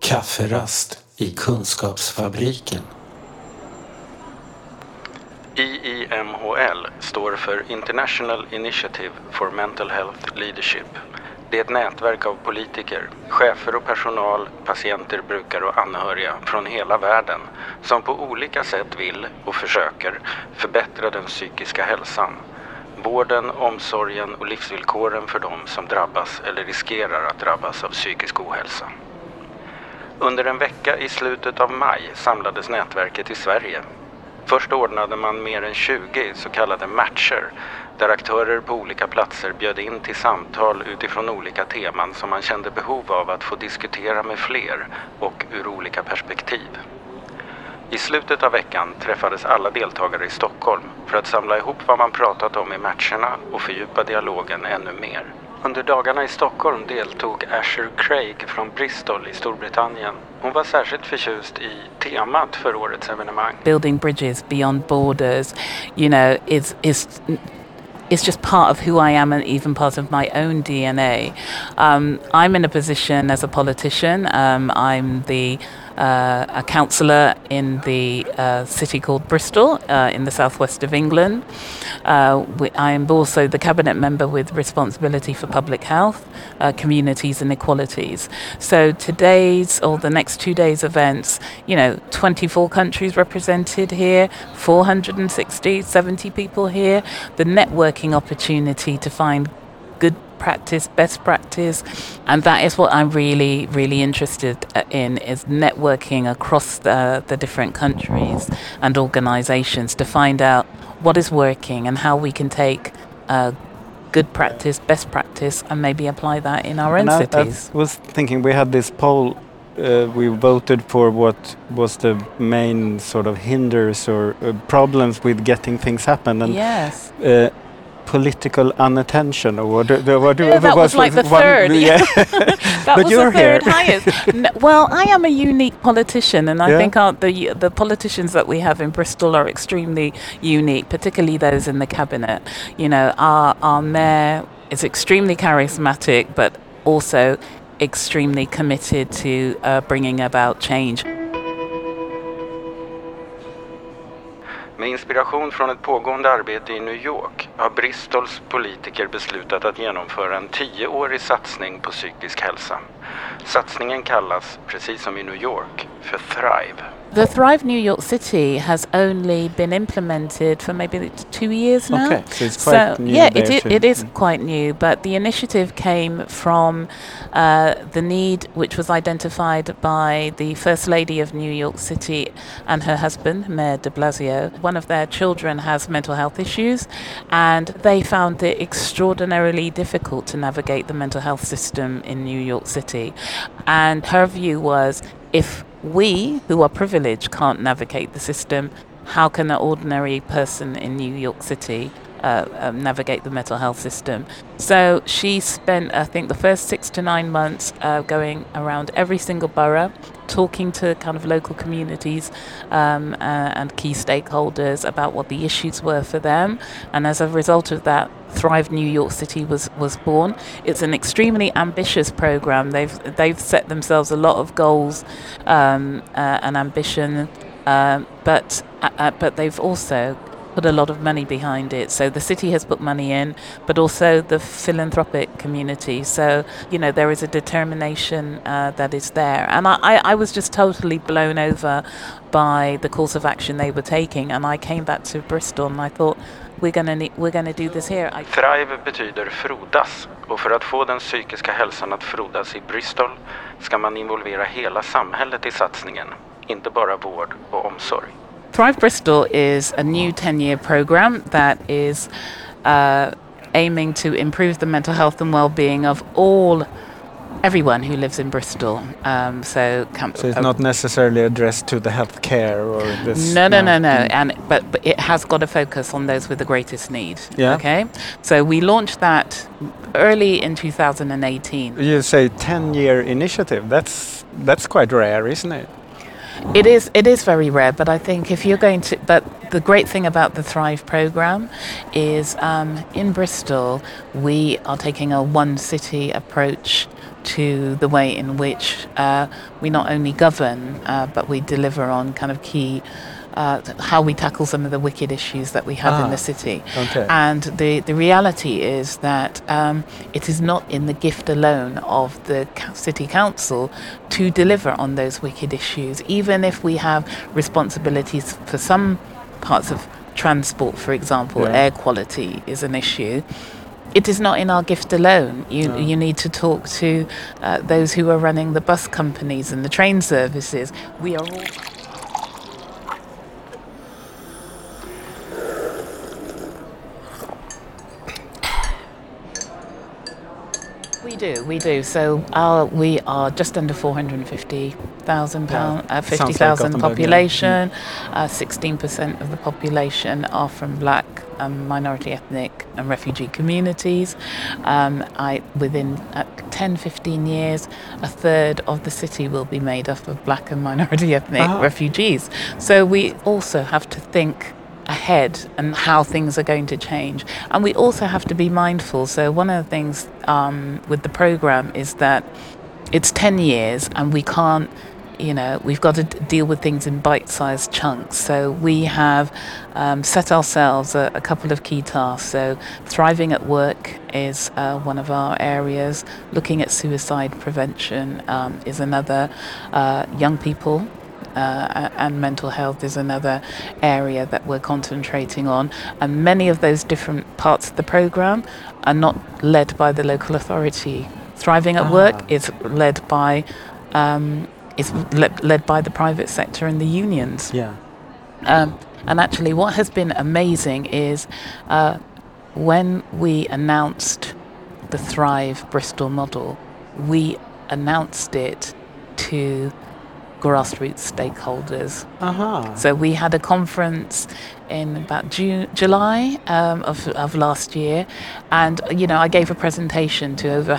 Kafferast i Kunskapsfabriken. IIMHL står för International Initiative for Mental Health Leadership. Det är ett nätverk av politiker, chefer och personal, patienter, brukare och anhöriga från hela världen som på olika sätt vill och försöker förbättra den psykiska hälsan. Vården, omsorgen och livsvillkoren för dem som drabbas eller riskerar att drabbas av psykisk ohälsa. Under en vecka i slutet av maj samlades nätverket i Sverige. Först ordnade man mer än 20 så kallade matcher där aktörer på olika platser bjöd in till samtal utifrån olika teman som man kände behov av att få diskutera med fler och ur olika perspektiv. I slutet av veckan träffades alla deltagare i Stockholm för att samla ihop vad man pratat om i matcherna och fördjupa dialogen ännu mer. Under dagarna i Stockholm deltog Asher Craig från Bristol i Storbritannien. Hon var särskilt förtjust i temat för årets evenemang. Building bridges beyond borders, you know, is just part of who I am and even part of my own DNA. I'm in a position as a politician. I'm a councillor in the city called Bristol in the southwest of England. I am also the cabinet member with responsibility for public health, communities and equalities. So today's or the next 2 days events, 24 countries represented here, 70 people here, the networking opportunity to find good practice, best practice, and that is what I'm really, really interested in, is networking across the different countries and organizations to find out what is working and how we can take good practice, best practice, and maybe apply that in our own cities. I was thinking, we had this poll, we voted for what was the main sort of hinders or problems with getting things happen, and yes. Political unattention, or what that was like the third. Yeah. That but was you're the third here. highest. Well, I am a unique politician, and I think the politicians that we have in Bristol are extremely unique, particularly those in the cabinet. Our mayor is extremely charismatic, but also extremely committed to bringing about change. Med inspiration från ett pågående arbete i New York har Bristols politiker beslutat att genomföra en 10-årig satsning på psykisk hälsa. Satsningen kallas, precis som i New York, för Thrive. The Thrive New York City has only been implemented for maybe 2 years now. Okay, so it's quite new. Yeah, it is quite new, but the initiative came from the need which was identified by the First Lady of New York City and her husband, Mayor de Blasio. One of their children has mental health issues, and they found it extraordinarily difficult to navigate the mental health system in New York City. And her view was, if we, who are privileged, can't navigate the system, how can an ordinary person in New York City navigate the mental health system? So she spent, I think, the first 6 to 9 months going around every single borough, talking to kind of local communities and key stakeholders about what the issues were for them. And as a result of that, Thrive New York City was born. It's an extremely ambitious program. They've set themselves a lot of goals and ambition, but they've also put a lot of money behind it. So the city has put money in, but also the philanthropic community. So, there is a determination that is there. And I was just totally blown over by the course of action they were taking. And I came back to Bristol and I thought, we're gonna do this here. Thrive betyder frodas, och för att få den psykiska hälsan att frodas i Bristol ska man involvera hela samhället i satsningen, inte bara vård och omsorg. Thrive Bristol is a new 10-year program that is aiming to improve the mental health and well-being of everyone who lives in Bristol. So it's not necessarily addressed to the healthcare or this. No. But it has got a focus on those with the greatest need. Yeah. Okay. So we launched that early in 2018. You say 10-year initiative. That's quite rare, isn't it? It is very rare, but I think if you're going to, but the great thing about the Thrive program is in Bristol we are taking a one city approach to the way in which we not only govern but we deliver on kind of key how we tackle some of the wicked issues that we have in the city. Okay. And the reality is that it is not in the gift alone of the city council to deliver on those wicked issues, even if we have responsibilities for some parts of transport, for example. Air quality is an issue. It is not in our gift alone. You need to talk to those who are running the bus companies and the train services. We are all... We do. So we are just under 450,000 50,000 population. 16% of the population are from Black, minority ethnic and refugee communities. Within 10-15 years, a third of the city will be made up of Black and minority ethnic refugees. So we also have to think ahead and how things are going to change, and we also have to be mindful. So one of the things with the program is that it's 10 years and we can't, we've got to deal with things in bite-sized chunks. So we have set ourselves a couple of key tasks. So thriving at work is one of our areas. Looking at suicide prevention is another. Young people and mental health is another area that we're concentrating on. And many of those different parts of the program are not led by the local authority. Thriving at work is led by led by the private sector and the unions. Yeah. And actually, what has been amazing is when we announced the Thrive Bristol model, we announced it to grassroots stakeholders. So we had a conference in about July of last year, and I gave a presentation to over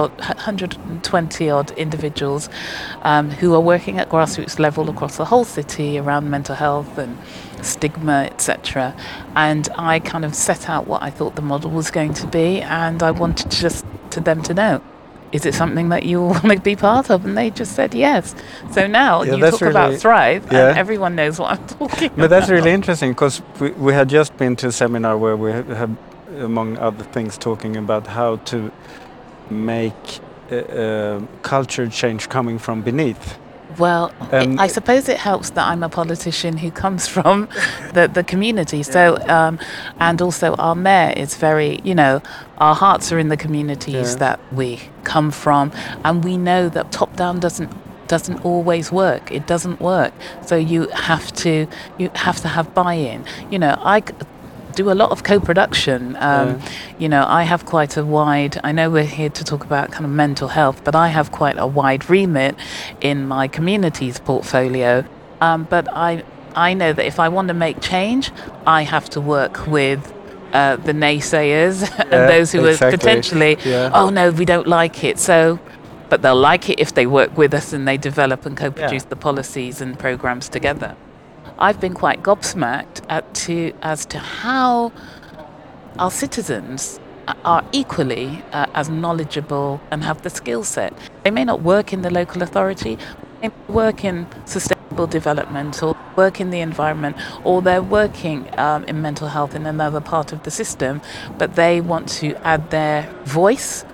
120 odd individuals who are working at grassroots level across the whole city around mental health and stigma, etc. And I kind of set out what I thought the model was going to be, and I wanted to them to know, is it something that you want to be part of? And they just said yes. So now you talk about Thrive, and everyone knows what I'm talking about. But that's really interesting, because we had just been to a seminar where we have, among other things, talking about how to make culture change coming from beneath. Well, I suppose it helps that I'm a politician who comes from the community. So, and also our mayor is very, our hearts are in the communities that we come from, and we know that top down doesn't always work. It doesn't work. So you have to have buy-in. I do a lot of co-production. I have quite a wide, I know we're here to talk about kind of mental health, but I have quite a wide remit in my community's portfolio. But I know that if I want to make change, I have to work with the naysayers and those who are potentially, oh no, we don't like it. So, but they'll like it if they work with us and they develop and co-produce the policies and programs together. I've been quite gobsmacked as to how our citizens are equally as knowledgeable and have the skill set. They may not work in the local authority, they may work in sustainable development or work in the environment, or they're working in mental health in another part of the system, but they want to add their voice,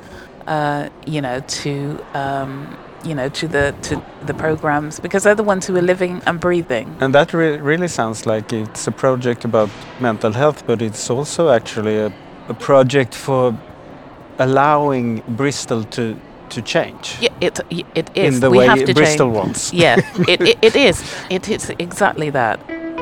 to the programs, because they're the ones who are living and breathing. And that really sounds like it's a project about mental health, but it's also actually a project for allowing Bristol to change. Yeah, it is. In the we way have to Bristol change. wants. Yeah, it is. It is exactly that.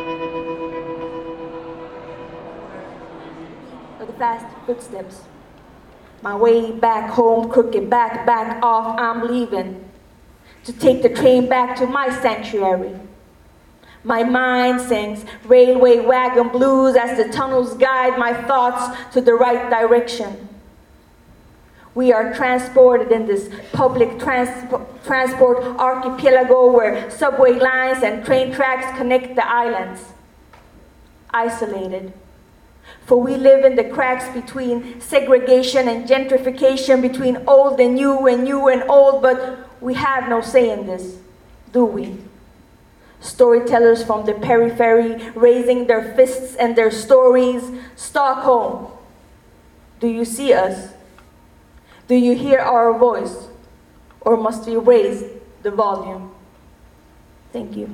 The fast footsteps. My way back home, crooked back off, I'm leaving to take the train back to my sanctuary. My mind sings railway wagon blues as the tunnels guide my thoughts to the right direction. We are transported in this public transport archipelago where subway lines and train tracks connect the islands. isolated. For we live in the cracks between segregation and gentrification, between old and new and old, but we have no say in this, do we? Storytellers from the periphery raising their fists and their stories. Stockholm, do you see us? Do you hear our voice? Or must we raise the volume? Thank you.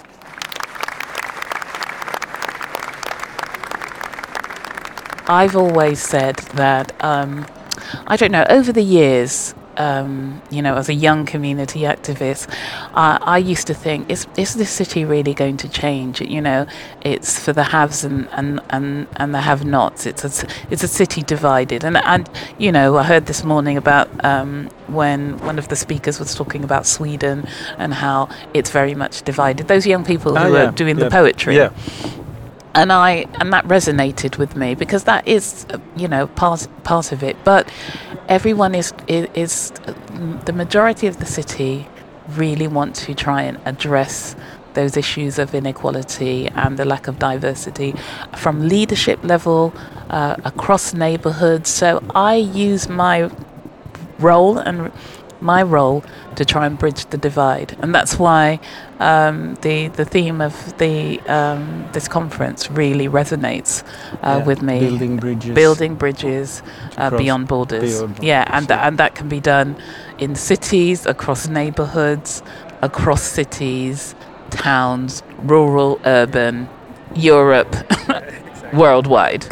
I've always said that, I don't know, over the years, as a young community activist, I used to think, is this city really going to change? It's for the haves and the have-nots. It's a city divided. And I heard this morning about when one of the speakers was talking about Sweden and how it's very much divided. Those young people who are doing the poetry. Yeah. And that resonated with me because that is, part of it. But everyone is the majority of the city really want to try and address those issues of inequality and the lack of diversity from leadership level across neighborhoods. So I use my role to try and bridge the divide, and that's why the theme of this conference really resonates with me. Building bridges beyond borders. And that can be done in cities, across neighborhoods, across cities, towns, rural, urban, Europe, worldwide.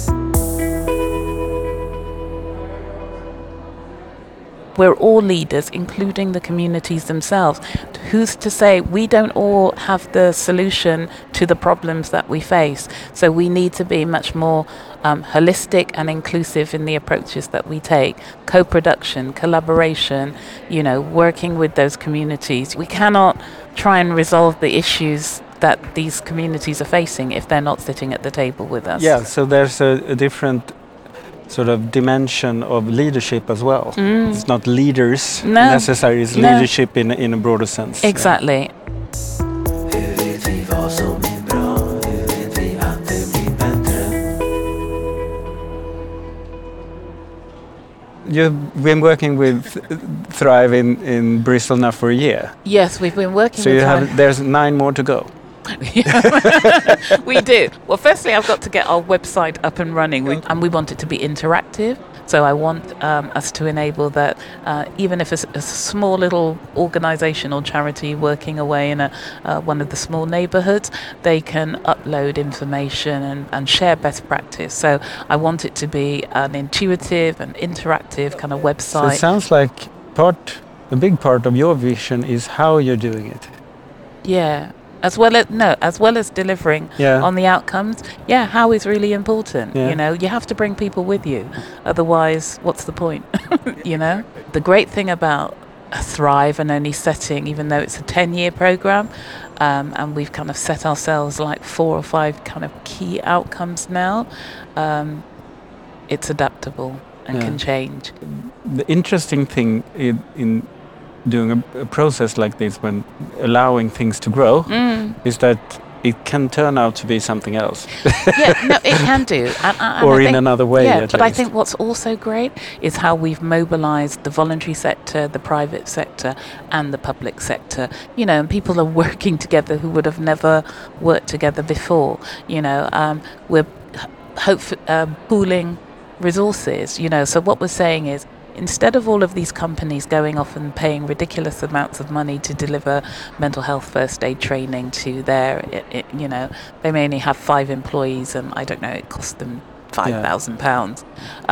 We're all leaders, including the communities themselves. Who's to say we don't all have the solution to the problems that we face? So we need to be much more holistic and inclusive in the approaches that we take. Co-production, collaboration, working with those communities. We cannot try and resolve the issues that these communities are facing if they're not sitting at the table with us. Yeah, so there's a different sort of dimension of leadership as well. It's not leaders necessarily, it's leadership in a broader sense. Exactly. You've been working with Thrive in Bristol now for a year. Yes, we've been working with Thrive. So there's 9 more to go. We do. Well, firstly, I've got to get our website up and running, and we want it to be interactive. So I want us to enable that even if it's a small little organisation or charity working away in one of the small neighbourhoods, they can upload information and share best practice. So I want it to be an intuitive and interactive kind of website. So it sounds like a big part of your vision is how you're doing it. Yeah. As well as delivering on the outcomes. Yeah, how is really important. Yeah. You have to bring people with you. Otherwise, what's the point? The great thing about Thrive and only setting, even though it's a 10-year program, and we've kind of set ourselves like 4 or 5 kind of key outcomes now, it's adaptable and can change. The interesting thing in doing a process like this, when allowing things to grow, is that it can turn out to be something else. It can do. Or in another way, at least. I think what's also great is how we've mobilised the voluntary sector, the private sector and the public sector. And people are working together who would have never worked together before. We're pooling resources. So what we're saying is, instead of all of these companies going off and paying ridiculous amounts of money to deliver mental health first aid training to they may only have 5 employees and I don't know, it costs them £5,000.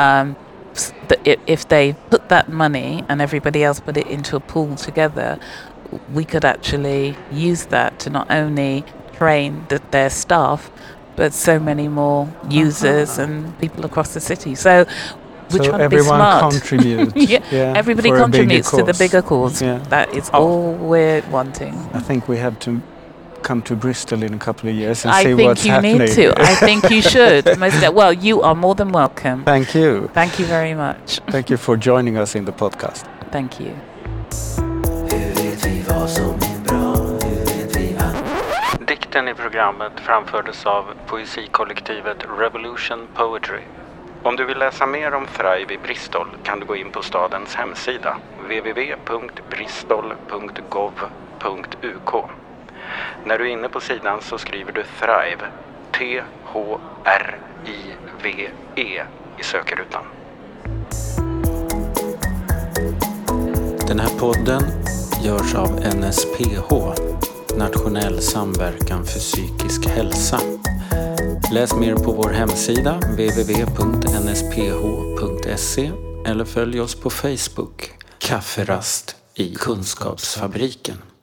If they put that money and everybody else put it into a pool together, we could actually use that to not only train their staff, but so many more users and people across the city. So everyone contributes. Everybody contributes to the bigger cause. That is all we're wanting. I think we have to come to Bristol in a couple of years and see what's happening. I think you need to. I think you should. Well, you are more than welcome. Thank you. Thank you very much. Thank you for joining us in the podcast. Thank you. Dikten i programmet framfördes av poesikollektivet Revolution Poetry. Om du vill läsa mer om Thrive i Bristol kan du gå in på stadens hemsida www.bristol.gov.uk. När du är inne på sidan så skriver du Thrive, THRIVE i sökrutan. Den här podden görs av NSPH, Nationell samverkan för psykisk hälsa. Läs mer på vår hemsida www.nsph.se eller följ oss på Facebook, Kafferast i Kunskapsfabriken.